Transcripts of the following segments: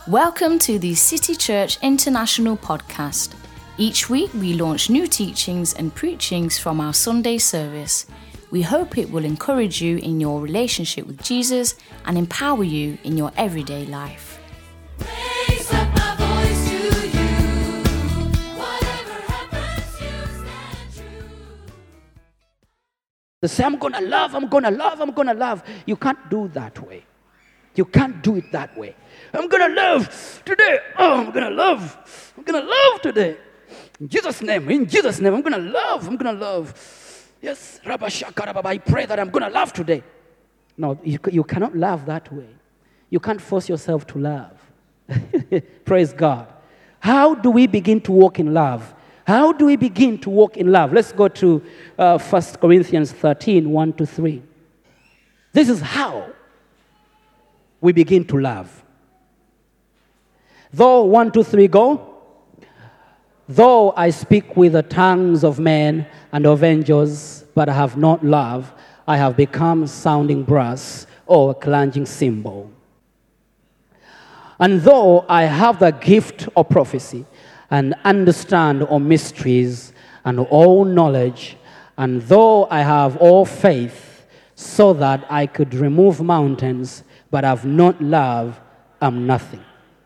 Welcome to the City Church International podcast. Each week we launch new teachings and preachings from our Sunday service. We hope it will encourage you in your relationship with Jesus and empower you in your everyday life. Raise up my voice to you. Whatever happens, you stand true. They say, I'm going to love. You can't do that way. You can't do it that way. I'm going to love today. Oh, I'm going to love. I'm going to love today. In Jesus' name, I'm going to love. Yes, Rabba Shakarababa, I pray that I'm going to love today. No, you cannot love that way. You can't force yourself to love. Praise God. How do we begin to walk in love? How do we begin to walk in love? Let's go to 1 Corinthians 13, 1-3. This is how we begin to love. Though, 1, 2, 3, go. Though I speak with the tongues of men and of angels, but I have not love, I have become sounding brass or a clanging cymbal. And though I have the gift of prophecy and understand all mysteries and all knowledge, and though I have all faith so that I could remove mountains, but have not love, I'm nothing.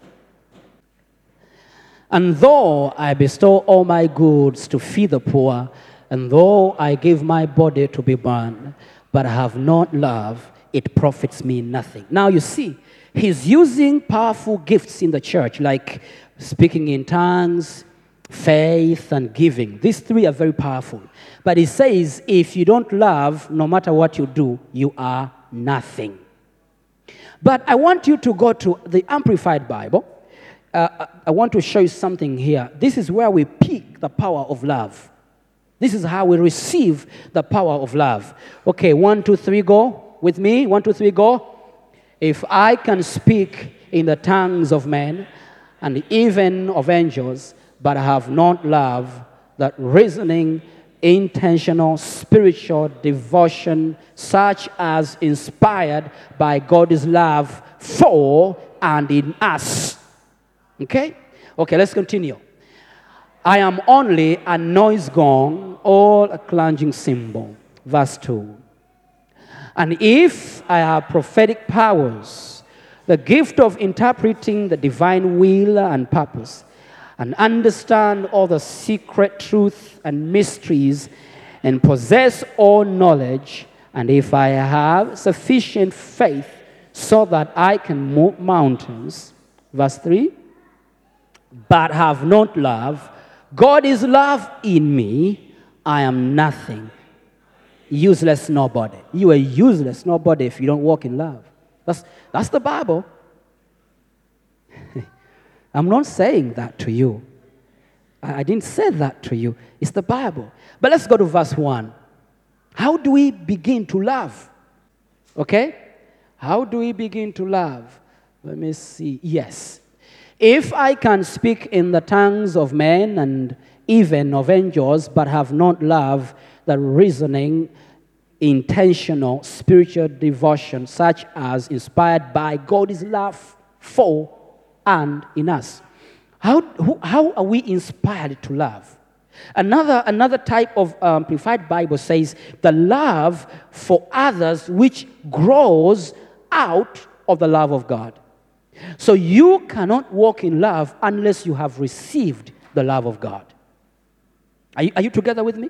And though I bestow all my goods to feed the poor, and though I give my body to be burned, but have not love, it profits me nothing. Now you see, he's using powerful gifts in the church, like speaking in tongues, faith, and giving. These three are very powerful. But he says, if you don't love, no matter what you do, you are nothing. But I want you to go to the Amplified Bible. I want to show you something here. This is where we pick the power of love. This is how we receive the power of love. Okay, 1, 2, 3, go. With me, 1, 2, 3, go. If I can speak in the tongues of men and even of angels, but have not love, that reasoning, intentional, spiritual devotion, such as inspired by God's love for and in us. Okay, let's continue. I am only a noise gong or a clanging cymbal. Verse 2. And if I have prophetic powers, the gift of interpreting the divine will and purpose, and understand all the secret truth and mysteries, and possess all knowledge, and if I have sufficient faith so that I can move mountains, verse 3, but have not love, God is love in me, I am nothing. Useless nobody. You are useless nobody if you don't walk in love. That's the Bible. I'm not saying that to you. I didn't say that to you. It's the Bible. But let's go to verse 1. How do we begin to love? Okay? How do we begin to love? Let me see. Yes. If I can speak in the tongues of men and even of angels, but have not love, the reasoning, intentional, spiritual devotion, such as inspired by God's love for and in us. How are we inspired to love? Another type of Amplified Bible says, the love for others which grows out of the love of God. So you cannot walk in love unless you have received the love of God. Are you together with me?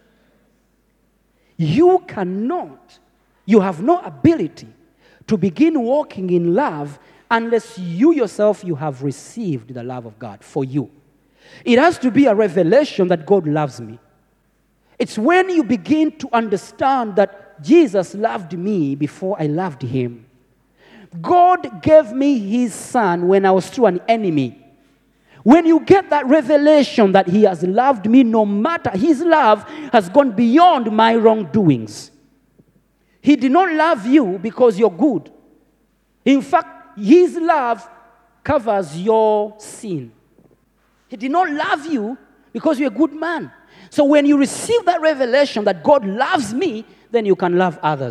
You have no ability to begin walking in love unless you yourself, you have received the love of God for you. It has to be a revelation that God loves me. It's when you begin to understand that Jesus loved me before I loved him. God gave me his son when I was still an enemy. When you get that revelation that he has loved me, no matter, his love has gone beyond my wrongdoings. He did not love you because you're good. In fact, his love covers your sin. He did not love you because you're a good man. So when you receive that revelation that God loves me, then you can love others.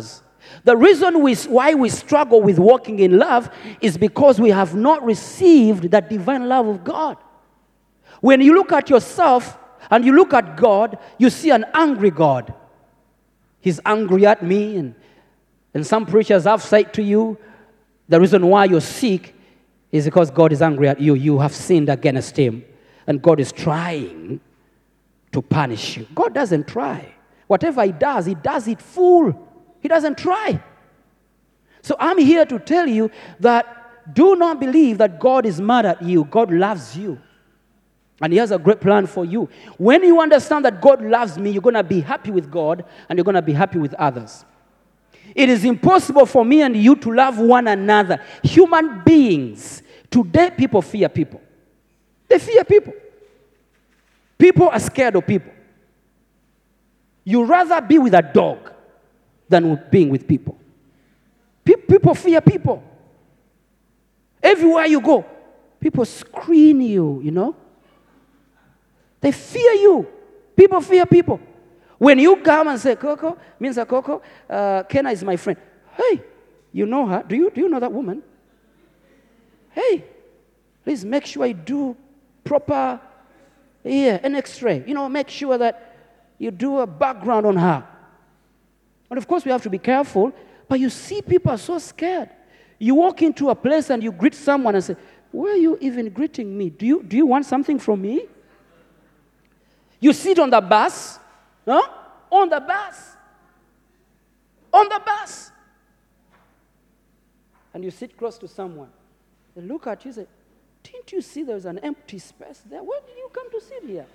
The reason why we struggle with walking in love is because we have not received the divine love of God. When you look at yourself and you look at God, you see an angry God. He's angry at me. And some preachers have said to you, the reason why you're sick is because God is angry at you. You have sinned against him. And God is trying to punish you. God doesn't try. Whatever he does it full. He doesn't try. So I'm here to tell you that do not believe that God is mad at you. God loves you. And he has a great plan for you. When you understand that God loves me, you're going to be happy with God and you're going to be happy with others. It is impossible for me and you to love one another. Human beings, today people fear people. They fear people. People are scared of people. You rather be with a dog than being with people. People fear people. Everywhere you go, people screen you, you know. They fear you. People fear people. When you come and say, Coco, Mr. Coco, Kenna is my friend. Hey, you know her? Do you know that woman? Hey, please make sure you do proper, an X-ray. You know, make sure that you do a background on her. And of course, we have to be careful. But you see, people are so scared. You walk into a place and you greet someone and say, why are you even greeting me? Do you want something from me? You sit on the bus. Huh? On the bus. On the bus. And you sit close to someone. They look at you and say, didn't you see there's an empty space there? Why did you come to sit here?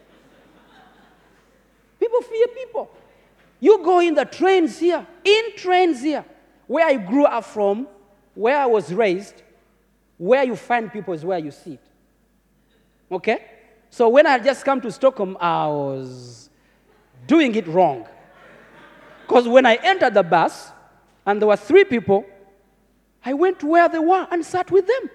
People fear people. You go in the trains here, where I grew up from, where I was raised, where you find people is where you sit. Okay? So when I just come to Stockholm, I was doing it wrong. Because when I entered the bus, and there were 3 people, I went to where they were and sat with them.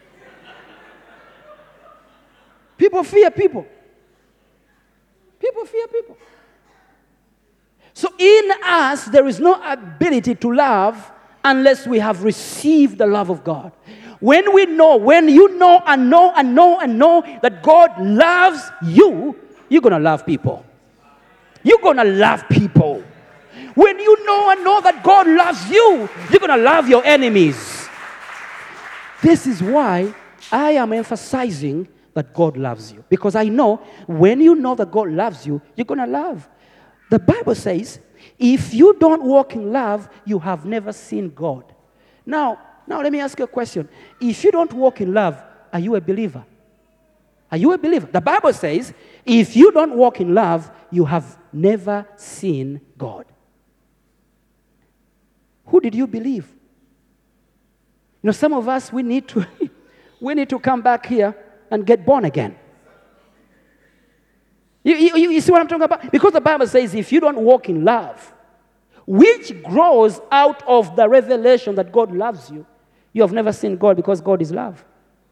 People fear people. People fear people. So in us, there is no ability to love unless we have received the love of God. When you know that God loves you, you're going to love people. You're going to love people. When you know that God loves you, you're going to love your enemies. This is why I am emphasizing that God loves you. Because I know when you know that God loves you, you're going to love. The Bible says, if you don't walk in love, you have never seen God. Now let me ask you a question. If you don't walk in love, are you a believer? Are you a believer? The Bible says, if you don't walk in love, you have never seen God. Who did you believe? You know, some of us, we need to come back here and get born again. You see what I'm talking about? Because the Bible says if you don't walk in love, which grows out of the revelation that God loves you, you have never seen God because God is love.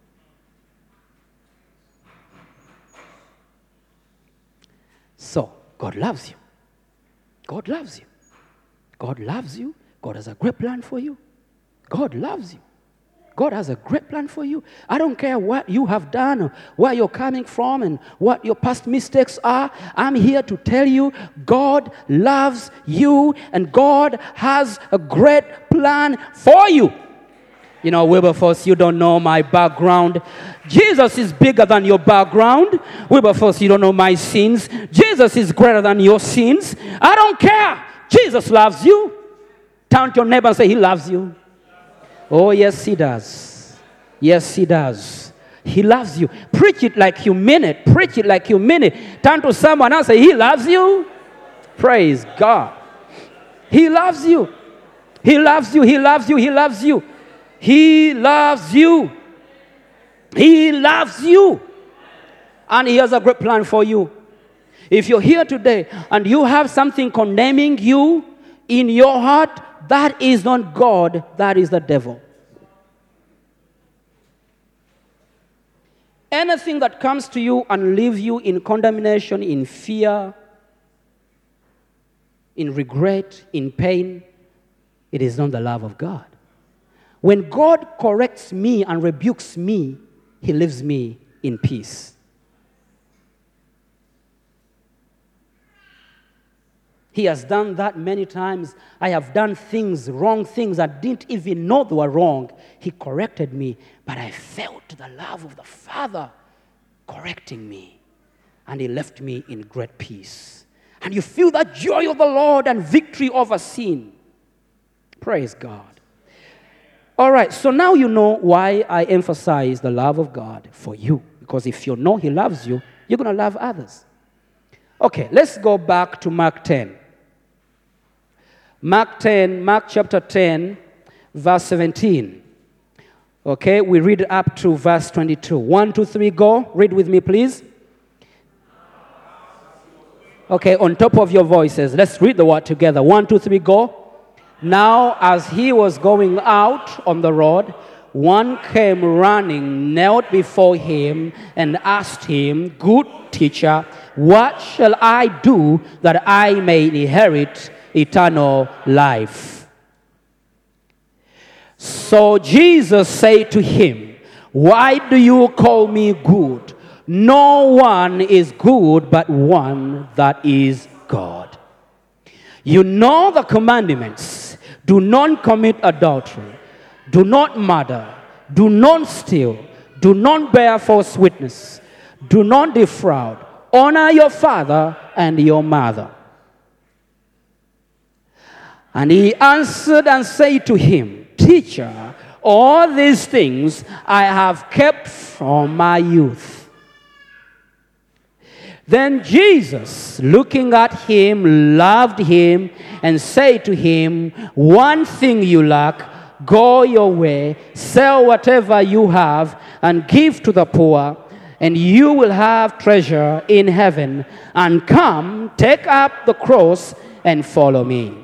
So, God loves you. God loves you. God loves you. God has a great plan for you. God loves you. God has a great plan for you. I don't care what you have done or where you're coming from and what your past mistakes are. I'm here to tell you God loves you and God has a great plan for you. You know, Wilberforce, you don't know my background. Jesus is bigger than your background. Wilberforce, you don't know my sins. Jesus is greater than your sins. I don't care. Jesus loves you. Turn to your neighbor and say, He loves you. Oh, yes, He does. Yes, He does. He loves you. Preach it like you mean it. Preach it like you mean it. Turn to someone else and say, He loves you. Praise God. He loves you. He loves you. He loves you. He loves you. He loves you. He loves you. And He has a great plan for you. If you're here today and you have something condemning you in your heart, that is not God, that is the devil. Anything that comes to you and leaves you in condemnation, in fear, in regret, in pain, it is not the love of God. When God corrects me and rebukes me, he leaves me in peace. He has done that many times. I have done things, wrong things, I didn't even know they were wrong. He corrected me, but I felt the love of the Father correcting me. And he left me in great peace. And you feel that joy of the Lord and victory over sin. Praise God. All right, so now you know why I emphasize the love of God for you. Because if you know he loves you, you're going to love others. Okay, let's go back to Mark 10. Mark chapter 10, verse 17. Okay, we read up to verse 22. 1, 2, 3, go. Read with me, please. Okay, on top of your voices, let's read the word together. 1, 2, 3, go. Now, as he was going out on the road, one came running, knelt before him, and asked him, "Good teacher, what shall I do that I may inherit eternal life?" So Jesus said to him, "Why do you call me good? No one is good but one, that is God. You know the commandments. Do not commit adultery. Do not murder. Do not steal. Do not bear false witness. Do not defraud. Honor your father and your mother." And he answered and said to him, "Teacher, all these things I have kept from my youth." Then Jesus, looking at him, loved him and said to him, "One thing you lack. Go your way, sell whatever you have, and give to the poor, and you will have treasure in heaven. And come, take up the cross and follow me."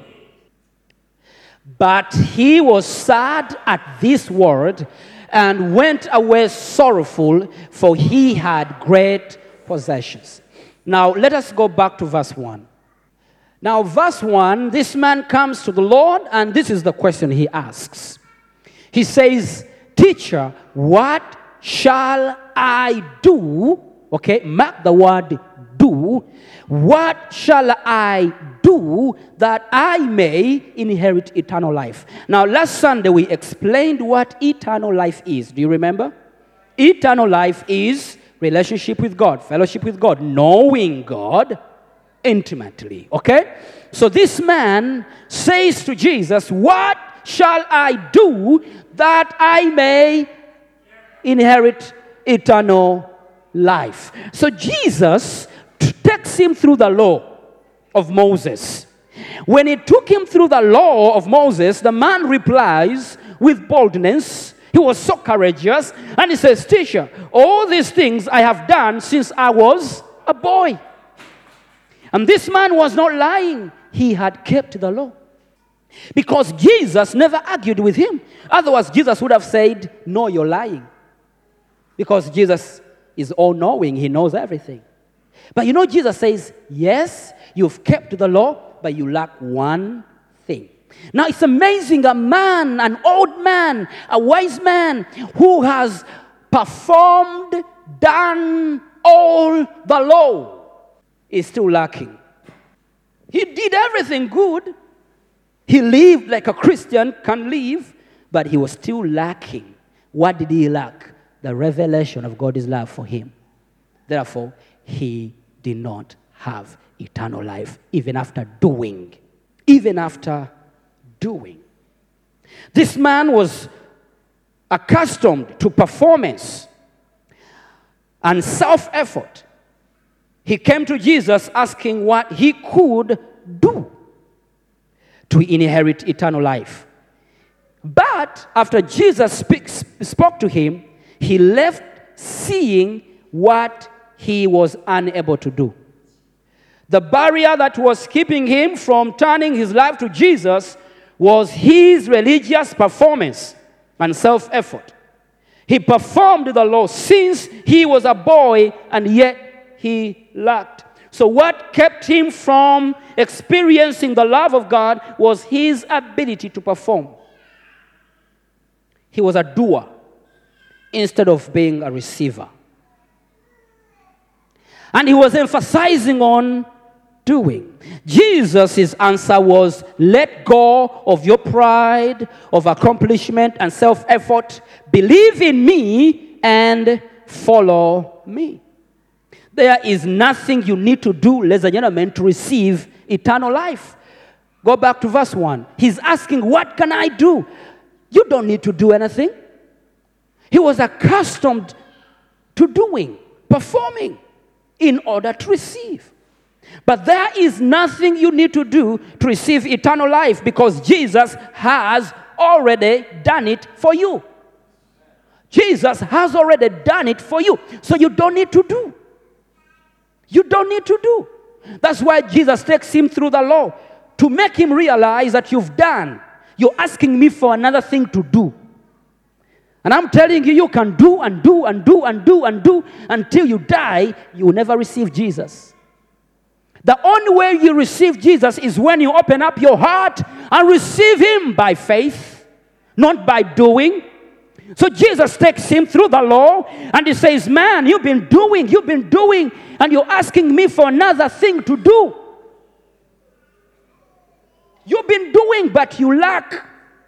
But he was sad at this word and went away sorrowful, for he had great possessions. Now, let us go back to verse 1. Now, verse 1, this man comes to the Lord, and this is the question he asks. He says, "Teacher, what shall I do?" Okay, mark the word do. "What shall I do that I may inherit eternal life?" Now, last Sunday we explained what eternal life is. Do you remember? Eternal life is relationship with God, fellowship with God, knowing God intimately. Okay? So this man says to Jesus, "What shall I do that I may inherit eternal life?" So Jesus takes him through the law of Moses. When he took him through the law of Moses, the man replies with boldness. He was so courageous, and he says, "Teacher, all these things I have done since I was a boy." And this man was not lying. He had kept the law. Because Jesus never argued with him. Otherwise, Jesus would have said, "No, you're lying." Because Jesus is all-knowing. He knows everything. But you know, Jesus says, "Yes, you've kept the law, but you lack one thing." Now, it's amazing, a man, an old man, a wise man who has performed, done all the law is still lacking. He did everything good. He lived like a Christian can live, but he was still lacking. What did he lack? The revelation of God's love for him. Therefore, he did not have eternal life, even after doing. Even after doing. This man was accustomed to performance and self-effort. He came to Jesus asking what he could do to inherit eternal life. But after Jesus spoke to him, he left seeing what he was unable to do. The barrier that was keeping him from turning his life to Jesus was his religious performance and self-effort. He performed the law since he was a boy, and yet he lacked. So what kept him from experiencing the love of God was his ability to perform. He was a doer instead of being a receiver. And he was emphasizing on doing. Jesus' answer was, let go of your pride of accomplishment and self-effort. Believe in me and follow me. There is nothing you need to do, ladies and gentlemen, to receive eternal life. Go back to verse 1. He's asking, what can I do? You don't need to do anything. He was accustomed to doing, performing, in order to receive. But there is nothing you need to do to receive eternal life because Jesus has already done it for you. Jesus has already done it for you. So you don't need to do. You don't need to do. That's why Jesus takes him through the law to make him realize that you've done. You're asking me for another thing to do. And I'm telling you, you can do and do and do and do and do until you die. You will never receive Jesus. The only way you receive Jesus is when you open up your heart and receive him by faith, not by doing. So Jesus takes him through the law and he says, man, you've been doing, and you're asking me for another thing to do. You've been doing, but you lack.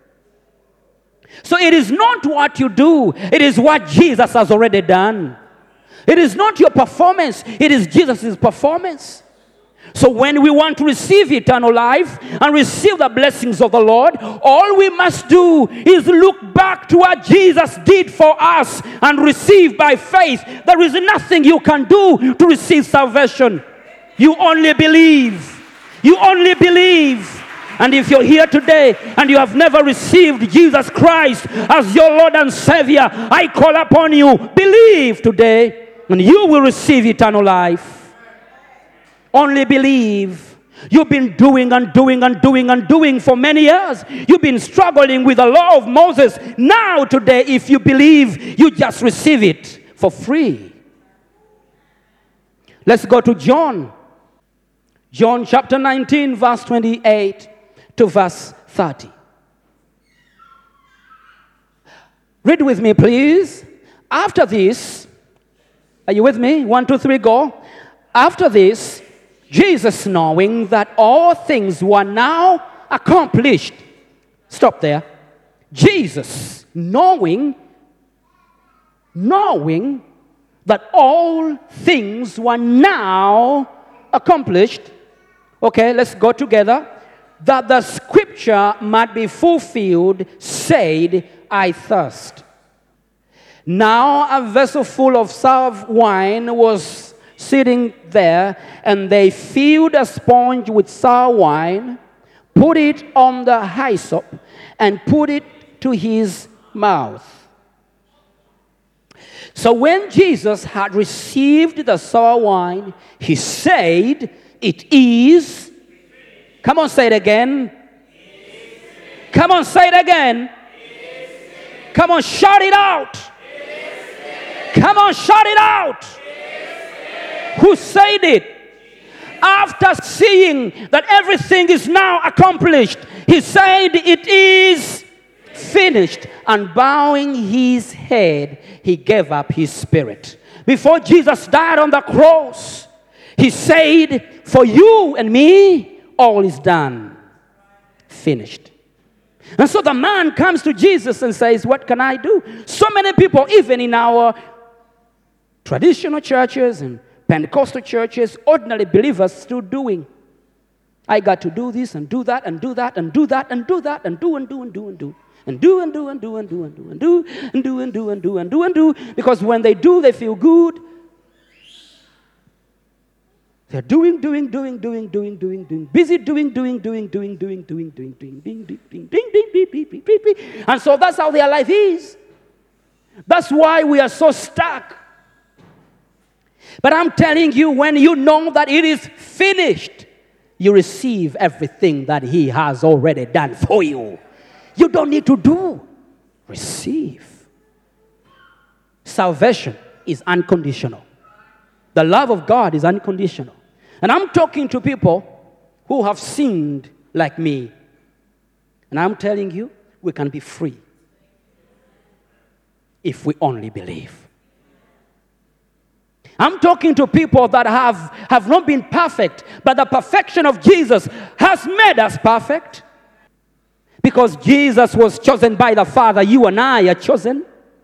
So it is not what you do, it is what Jesus has already done. It is not your performance, it is Jesus' performance. So when we want to receive eternal life and receive the blessings of the Lord, all we must do is look back to what Jesus did for us and receive by faith. There is nothing you can do to receive salvation. You only believe. You only believe. And if you're here today and you have never received Jesus Christ as your Lord and Savior, I call upon you, believe today and you will receive eternal life. Only believe. You've been doing and doing and doing and doing for many years. You've been struggling with the law of Moses. Now today, if you believe, you just receive it for free. Let's go to John. John chapter 19, verse 28 to verse 30. Read with me, please. After this, are you with me? 1, 2, 3, go. After this, Jesus, knowing that all things were now accomplished. Stop there. Jesus, knowing that all things were now accomplished. Okay, let's go together. That the scripture might be fulfilled, said, I thirst. Now a vessel full of sour wine was sitting there, and they filled a sponge with sour wine, put it on the hyssop, and put it to his mouth. So when Jesus had received the sour wine, he said, it is. Come on, say it again. Come on, say it again. Come on, shout it out. Come on, shout it out. Who said it? After seeing that everything is now accomplished, he said, it is finished. And bowing his head, he gave up his spirit. Before Jesus died on the cross, he said, for you and me, all is done. Finished. And so the man comes to Jesus and says, what can I do? So many people, even in our traditional churches and Pentecostal churches, ordinary believers still doing. I got to do this and do that and do that and do that and do that and do and do and do and do and do and do and do and do and do and do and do and do and do and do and do, because when they do, they feel good. They're doing, busy doing. And so that's how their life is. That's why we are so stuck. But I'm telling you, when you know that it is finished, you receive everything that he has already done for you. You don't need to do. Receive. Salvation is unconditional. The love of God is unconditional. And I'm talking to people who have sinned like me. And I'm telling you, we can be free if we only believe. I'm talking to people that have not been perfect, but the perfection of Jesus has made us perfect. Because Jesus was chosen by the Father, you and I are chosen.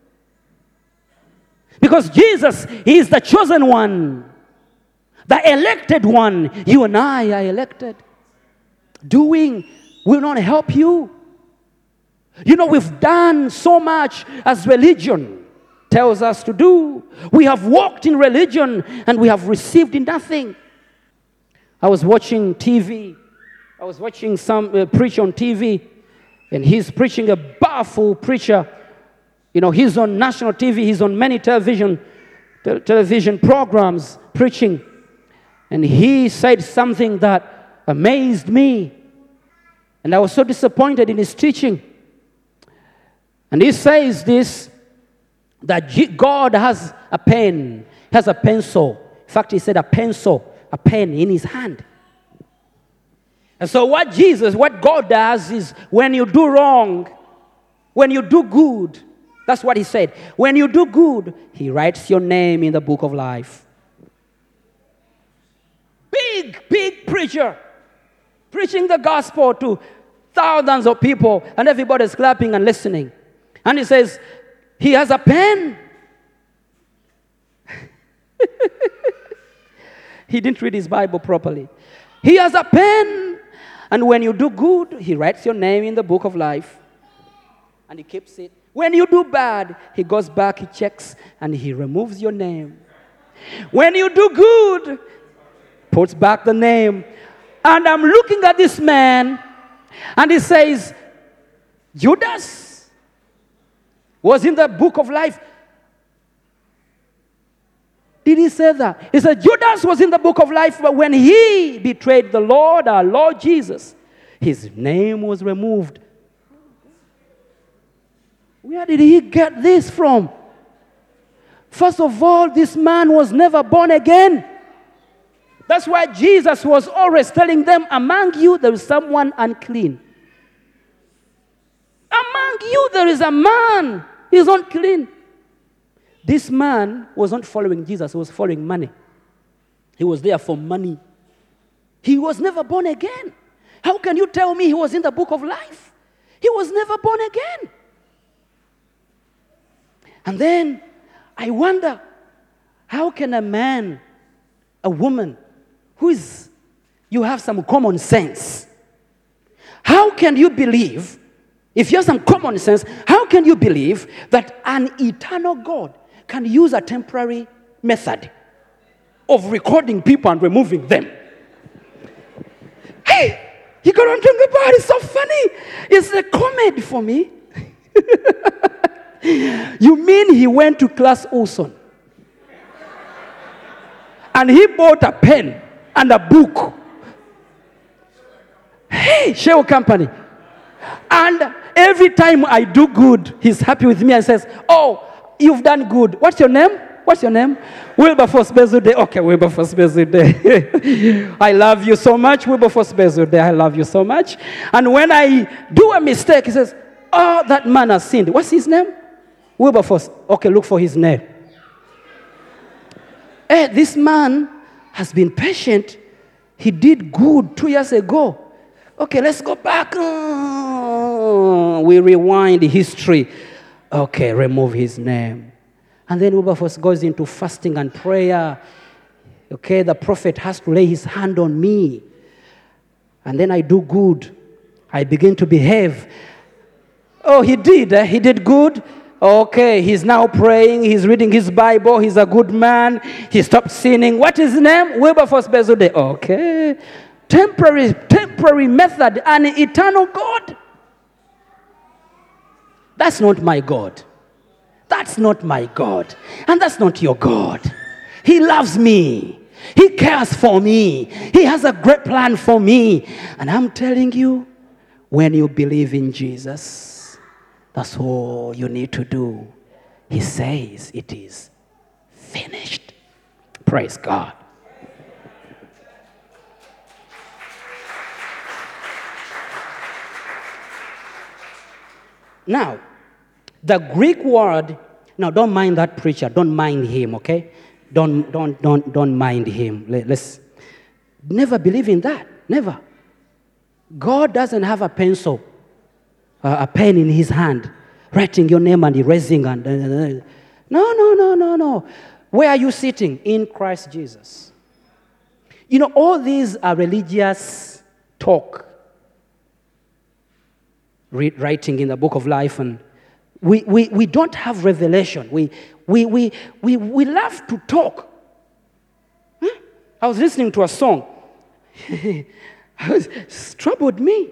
Because Jesus is the chosen one, the elected one, you and I are elected. Doing will not help you. You know, we've done so much as religion tells us to do. We have walked in religion and we have received nothing. I was watching TV. I was watching some preach on TV, and he's preaching, a powerful preacher. You know, he's on national TV. He's on many television programs preaching. And he said something that amazed me. And I was so disappointed in his teaching. And he says this, that God has a pen, has a pencil. In fact, he said a pencil, a pen in his hand. And so what God does is when you do wrong, when you do good, that's what he said. When you do good, he writes your name in the book of life. Big preacher, preaching the gospel to thousands of people, and everybody's clapping and listening. And he says, he has a pen. He didn't read his Bible properly. He has a pen. And when you do good, he writes your name in the book of life. And he keeps it. When you do bad, he goes back, he checks, and he removes your name. When you do good, puts back the name. And I'm looking at this man, and he says, Judas was in the book of life. Did he say that? He said, Judas was in the book of life, but when he betrayed the Lord, our Lord Jesus, his name was removed. Where did he get this from? First of all, this man was never born again. That's why Jesus was always telling them, among you there is someone unclean. Among you there is a man. He's unclean. This man was not following Jesus. He was following money. He was there for money. He was never born again. How can you tell me he was in the book of life? He was never born again. And then I wonder, how can a man, a woman, you have some common sense, how can you believe, if you have some common sense, how can you believe that an eternal God can use a temporary method of recording people and removing them? Hey, you got to think about it. It's so funny. It's a comedy for me. You mean he went to Class Olson and he bought a pen and a book? Hey, Shell Company. And every time I do good, he's happy with me and says, oh, you've done good. What's your name? What's your name? Wilberforce Bezude. Okay, Wilberforce Bezude. I love you so much, Wilberforce Bezude. I love you so much. And when I do a mistake, he says, oh, that man has sinned. What's his name? Wilberforce. Okay, look for his name. Hey, this man has been patient. He did good 2 years ago. Okay, let's go back. We rewind history. Okay, remove his name. And then Wilberforce goes into fasting and prayer. Okay, the prophet has to lay his hand on me. And then I do good. I begin to behave. Oh, he did good. Okay, he's now praying. He's reading his Bible. He's a good man. He stopped sinning. What is his name? Wilberforce Bezude. Okay. Temporary method, an eternal God. That's not my God. That's not my God. And that's not your God. He loves me. He cares for me. He has a great plan for me. And I'm telling you, when you believe in Jesus, that's all you need to do. He says it is finished. Praise God. Now, the Greek word, now don't mind that preacher, don't mind him, okay? Don't mind him. Let's never believe in that, never. God doesn't have a pencil, a pen in his hand, writing your name and erasing and no. Where are you sitting? In Christ Jesus. You know, all these are religious talk, writing in the book of life, and we don't have revelation. We love to talk. Huh? I was listening to a song. It's troubled me.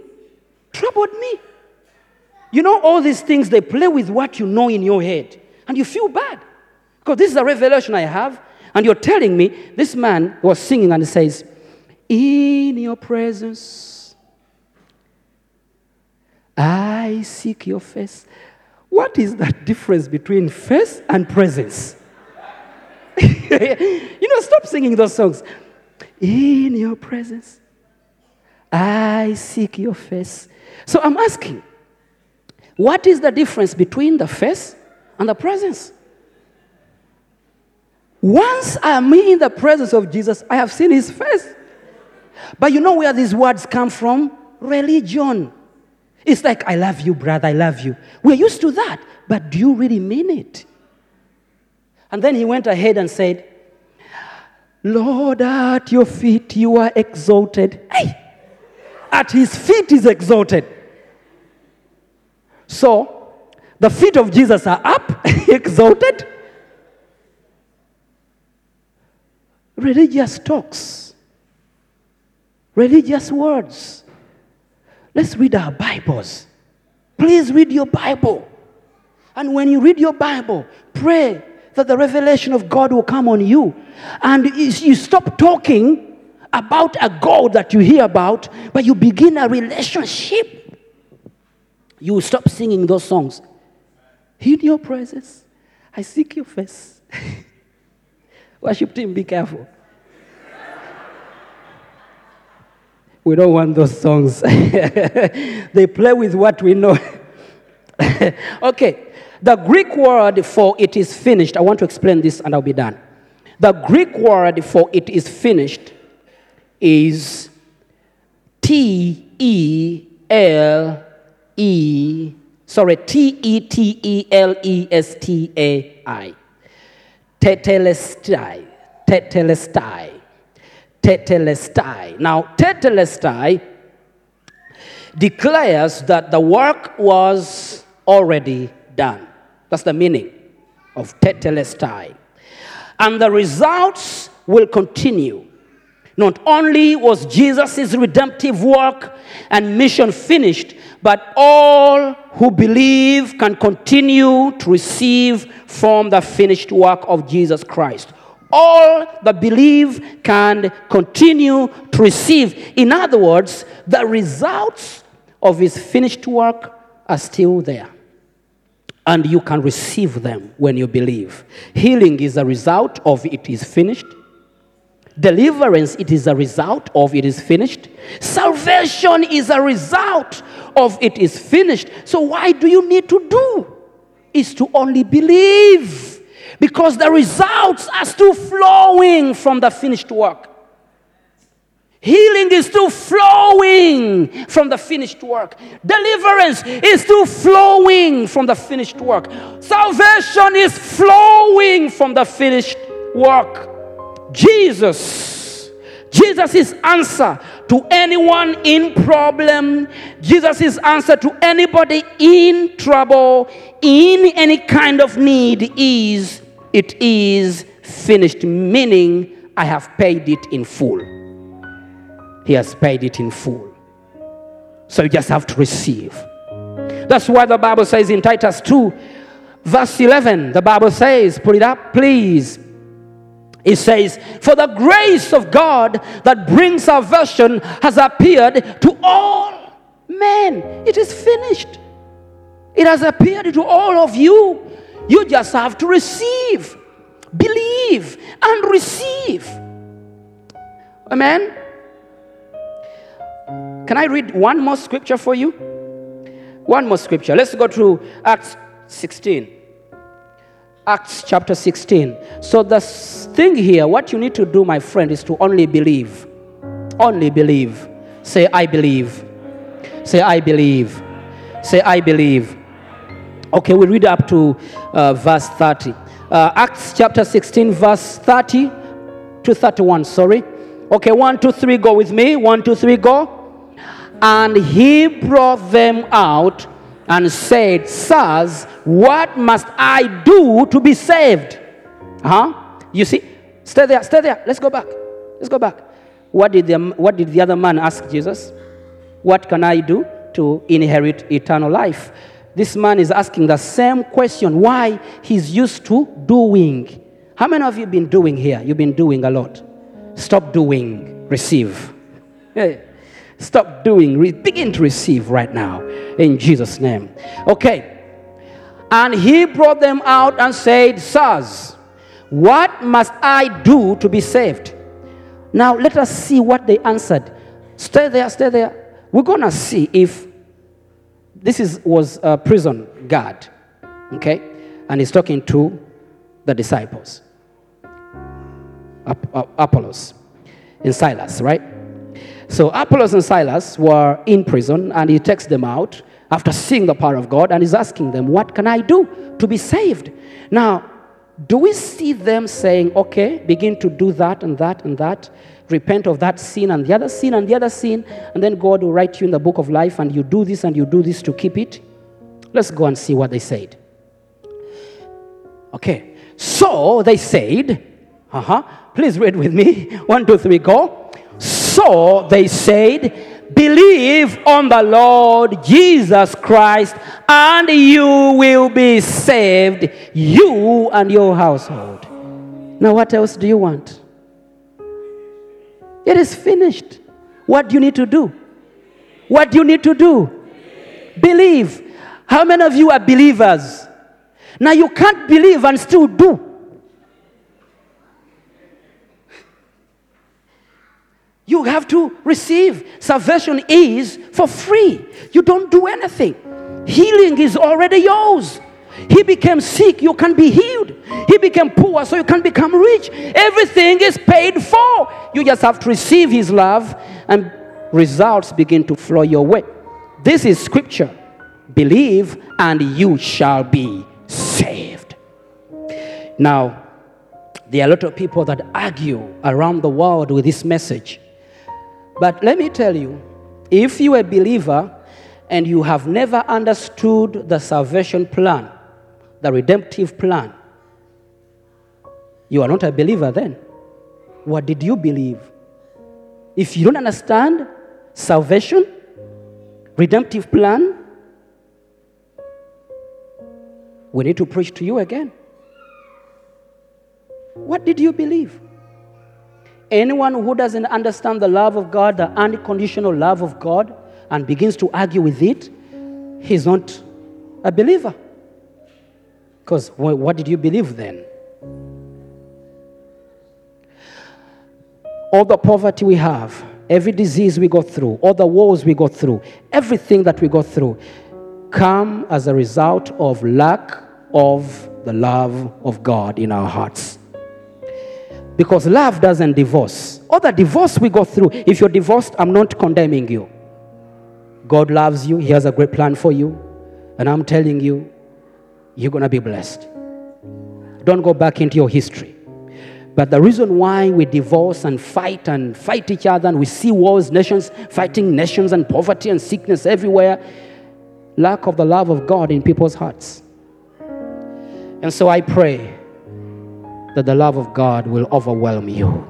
You know, all these things, they play with what you know in your head, and you feel bad. Because this is a revelation I have, and you're telling me, this man was singing and he says, in your presence, I seek your face. What is that difference between face and presence? Stop singing those songs. In your presence, I seek your face. So I'm asking, what is the difference between the face and the presence? Once I am in the presence of Jesus, I have seen his face. But you know where these words come from? Religion. It's like, I love you, brother, I love you. We're used to that, but do you really mean it? And then he went ahead and said, Lord, at your feet you are exalted. Hey! At his feet is exalted. So, the feet of Jesus are up, exalted. Religious talks, religious words. Let's read our Bibles. Please read your Bible. And when you read your Bible, pray that the revelation of God will come on you. And you stop talking about a God that you hear about, but you begin a relationship. You will stop singing those songs. In your presence, I seek your face. Worship team, be careful. We don't want those songs. They play with what we know. Okay, the Greek word for it is finished. I want to explain this and I'll be done. The Greek word for it is finished is Tetelestai. Tetelestai. Now, tetelestai declares that the work was already done. That's the meaning of tetelestai. And the results will continue. Not only was Jesus' redemptive work and mission finished, but all who believe can continue to receive from the finished work of Jesus Christ. All that believe can continue to receive. In other words, the results of his finished work are still there. And you can receive them when you believe. Healing is a result of it is finished. Deliverance, it is a result of it is finished. Salvation is a result of it is finished. So why do you need to do? Is to only believe. Because the results are still flowing from the finished work. Healing is still flowing from the finished work. Deliverance is still flowing from the finished work. Salvation is flowing from the finished work. Jesus' answer to anyone in problem, Jesus' answer to anybody in trouble, in any kind of need is, it is finished, meaning I have paid it in full. He has paid it in full. So you just have to receive. That's why the Bible says in Titus 2, verse 11, the Bible says, put it up, please. It says, for the grace of God that brings salvation has appeared to all men. It is finished. It has appeared to all of you. You just have to receive, believe, and receive. Amen? Can I read one more scripture for you? One more scripture. Let's go to Acts 16. Acts chapter 16. So the thing here, what you need to do, my friend, is to only believe. Only believe. Say, I believe. Say, I believe. Say, I believe. Okay, we read up to verse 30. Acts chapter 16, verse 30 to 31, sorry. Okay, 1, 2, 3, go with me. 1, 2, 3, go. And he brought them out and said, Sirs, what must I do to be saved? You see? Stay there, stay there. Let's go back. Let's go back. What did the other man ask Jesus? What can I do to inherit eternal life? This man is asking the same question. Why? He's used to doing. How many of you been doing here? You've been doing a lot. Stop doing. Receive. Yeah. Stop doing. Begin to receive right now. In Jesus' name. Okay. And he brought them out and said, Sirs, what must I do to be saved? Now let us see what they answered. Stay there, stay there. We're going to see if this was a prison guard. Okay? And he's talking to the disciples. Apollos and Silas, right? So Apollos and Silas were in prison, and he takes them out after seeing the power of God, and he's asking them, what can I do to be saved? Now, do we see them saying, okay, begin to do that and that and that, repent of that sin and the other sin and the other sin, and then God will write you in the book of life, and you do this and you do this to keep it? Let's go and see what they said. Okay, so they said, please read with me. 1, 2, 3, go. So they said, believe on the Lord Jesus Christ, and you will be saved, you and your household. Now, what else do you want? It is finished. What do you need to do? What do you need to do? Believe. How many of you are believers? Now, you can't believe and still do. You have to receive. Salvation is for free. You don't do anything. Healing is already yours. He became sick, you can be healed. He became poor, so you can become rich. Everything is paid for. You just have to receive his love, and results begin to flow your way. This is scripture. Believe, and you shall be saved. Now, there are a lot of people that argue around the world with this message. But let me tell you, if you are a believer and you have never understood the salvation plan, the redemptive plan, you are not a believer then. What did you believe? If you don't understand salvation, redemptive plan, we need to preach to you again. What did you believe? Anyone who doesn't understand the love of God, the unconditional love of God, and begins to argue with it, he's not a believer. Because what did you believe then? All the poverty we have, every disease we go through, all the wars we go through, everything that we go through, come as a result of lack of the love of God in our hearts. Because love doesn't divorce. All the divorce we go through, if you're divorced, I'm not condemning you. God loves you. He has a great plan for you. And I'm telling you, you're going to be blessed. Don't go back into your history. But the reason why we divorce and fight each other, and we see wars, nations fighting nations, and poverty and sickness everywhere, lack of the love of God in people's hearts. And so I pray that the love of God will overwhelm you.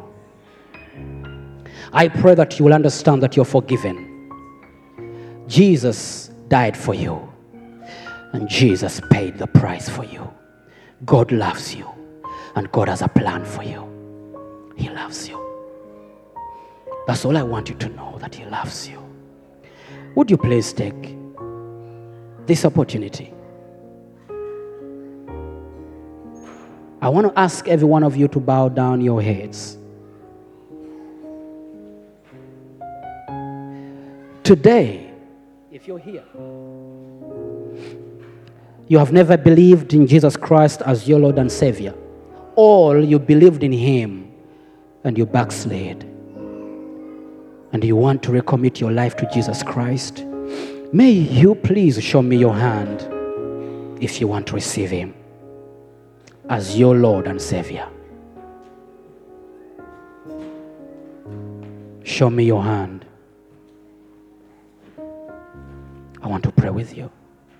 I pray that you will understand that you're forgiven. Jesus died for you, and Jesus paid the price for you. God loves you, and God has a plan for you. He loves you. That's all I want you to know, that He loves you. Would you please take this opportunity? I want to ask every one of you to bow down your heads. Today, if you're here You have never believed in Jesus Christ as your Lord and Savior. Or you believed in Him and you backslid. And you want to recommit your life to Jesus Christ. May you please show me your hand if you want to receive Him as your Lord and Savior. Show me your hand. I want to pray with you.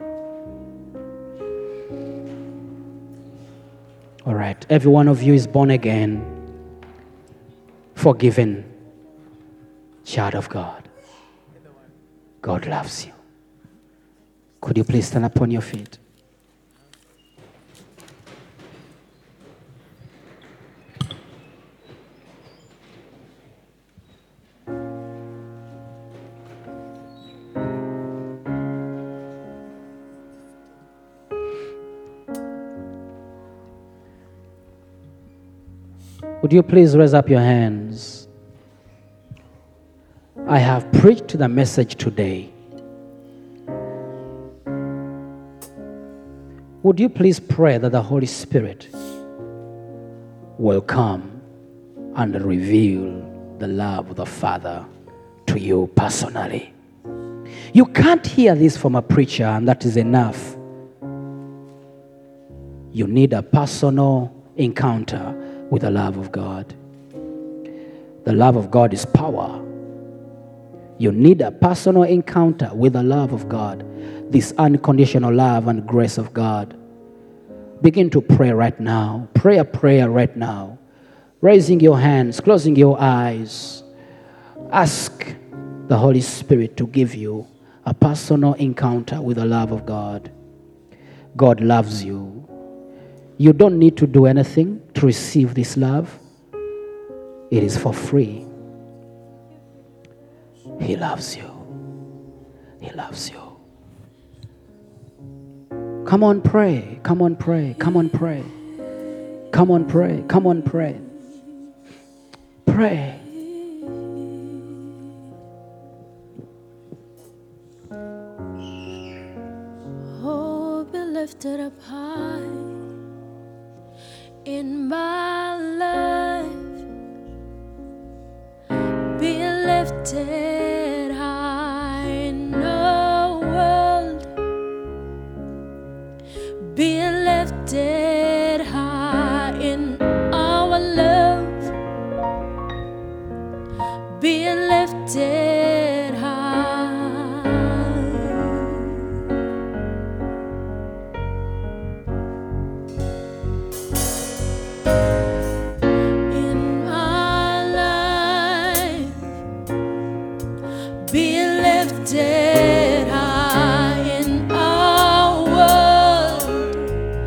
All right. Every one of you is born again, forgiven, child of God. God loves you. Could you please stand upon your feet? Would you please raise up your hands? I have preached the message today. Would you please pray that the Holy Spirit will come and reveal the love of the Father to you personally? You can't hear this from a preacher, and that is enough. You need a personal encounter with the love of God. The love of God is power. You need a personal encounter with the love of God, this unconditional love and grace of God. Begin to pray right now. Pray a prayer right now. Raising your hands, closing your eyes. Ask the Holy Spirit to give you a personal encounter with the love of God. God loves you. You don't need to do anything to receive this love. It is for free. He loves you. He loves you. Come on, pray. Come on, pray. Come on, pray. Come on, pray. Come on, pray. Pray. Oh, be lifted up high in my life. Be lifted high in the world. Be lifted high in our love. Be lifted high. In my life, be lifted high in our world.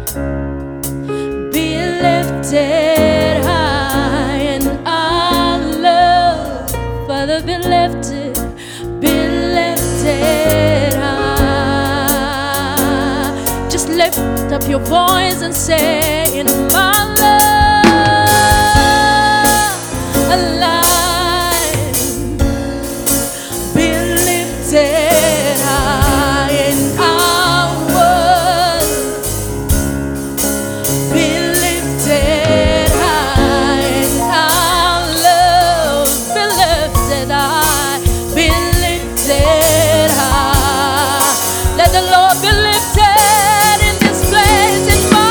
Be lifted high in our love. Father, be lifted high. Just lift up your voice and say, in my love, alive. Be lifted high in our world. Be lifted high in our love. Be lifted high. Be lifted high. Let the Lord be lifted in this place, in my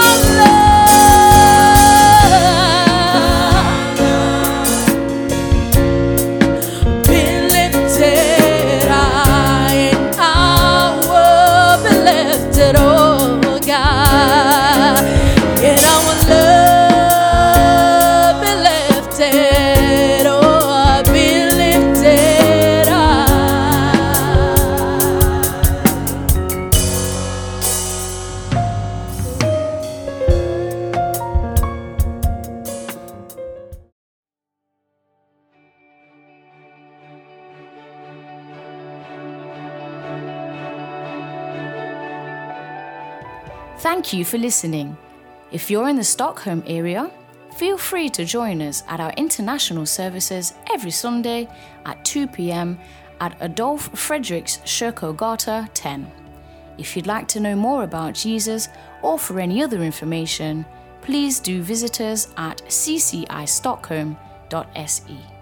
love. Be lifted high in our world. Be lifted, oh God, in our love. Be lifted, oh, be lifted Thank you for listening. If you're in the Stockholm area, feel free to join us at our international services every Sunday at 2 p.m. at Adolf Fredriks Kyrkogata 10. If you'd like to know more about Jesus or for any other information, please do visit us at ccistockholm.se.